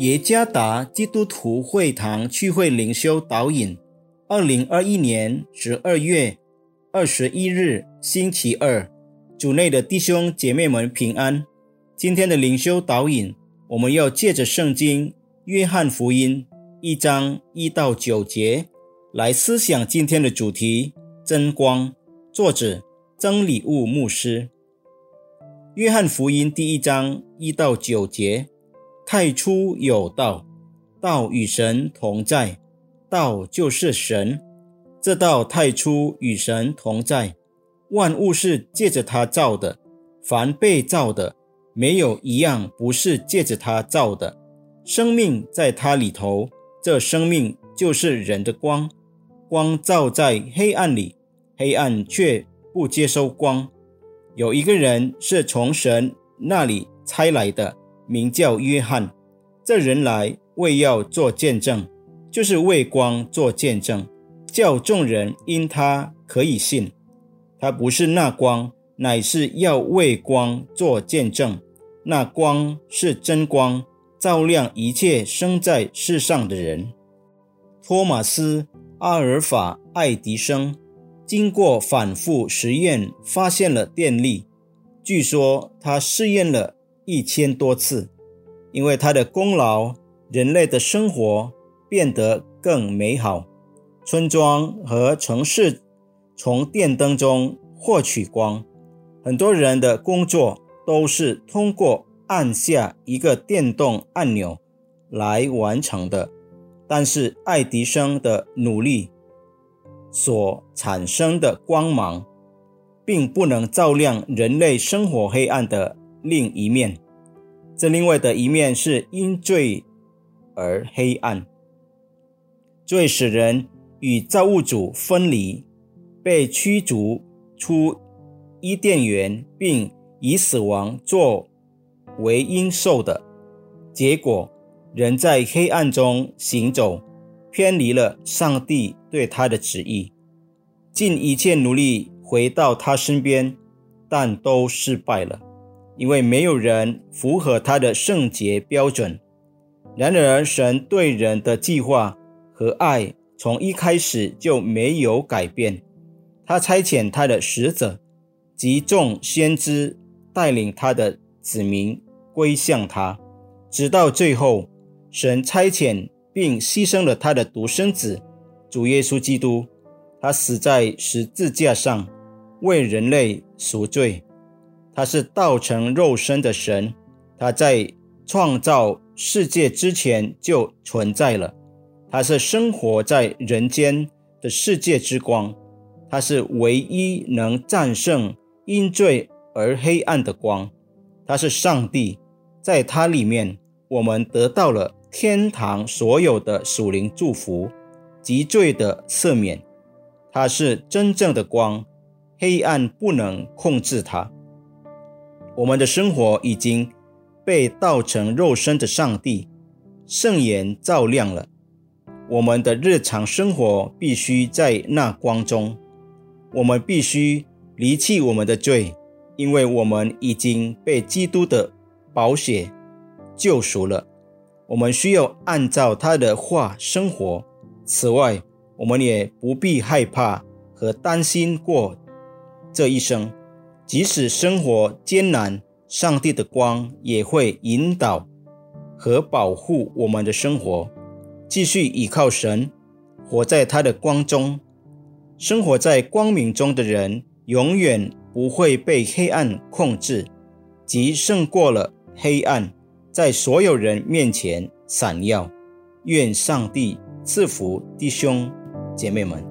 耶加达基督徒会堂聚会灵修导引2021年12月21日星期二，主内的弟兄姐妹们平安。今天的灵修导引，我们要借着圣经约翰福音1章1到9节来思想今天的主题，真光。作者曾礼务牧师。约翰福音第1章1到9节，太初有道，道与神同在，道就是神。这道太初与神同在，万物是借着他造的，凡被造的，没有一样不是借着他造的。生命在他里头，这生命就是人的光。光照在黑暗里，黑暗却不接收光。有一个人是从神那里差来的，名叫约翰。这人来为要做见证，就是为光做见证，叫众人因他可以信。他不是那光，乃是要为光做见证。那光是真光，照亮一切生在世上的人。托马斯、阿尔法、爱迪生经过反复实验发现了电力，据说他试验了1000多次。因为他的功劳，人类的生活变得更美好。村庄和城市从电灯中获取光，很多人的工作都是通过按下一个电动按钮来完成的。但是爱迪生的努力所产生的光芒，并不能照亮人类生活黑暗的另一面。这另外的一面是因罪而黑暗。罪使人与造物主分离，被驱逐出伊甸园，并以死亡作为应受的结果。人在黑暗中行走，偏离了上帝对他的旨意，尽一切努力回到他身边，但都失败了，因为没有人符合他的圣洁标准。然而神对人的计划和爱从一开始就没有改变。他差遣他的使者及众先知带领他的子民归向他，直到最后，神差遣并牺牲了他的独生子主耶稣基督。他死在十字架上，为人类赎罪。他是道成肉身的神，他在创造世界之前就存在了。他是生活在人间的世界之光，他是唯一能战胜因罪而黑暗的光。他是上帝，在他里面我们得到了天堂所有的属灵祝福及罪的赦免。他是真正的光，黑暗不能控制他。我们的生活已经被道成肉身的上帝圣言照亮了。我们的日常生活必须在那光中。我们必须离弃我们的罪，因为我们已经被基督的宝血救赎了。我们需要按照他的话生活。此外，我们也不必害怕和担心过这一生。即使生活艰难，上帝的光也会引导和保护我们的生活。继续依靠神，活在他的光中。生活在光明中的人，永远不会被黑暗控制，即胜过了黑暗，在所有人面前闪耀。愿上帝赐福弟兄姐妹们。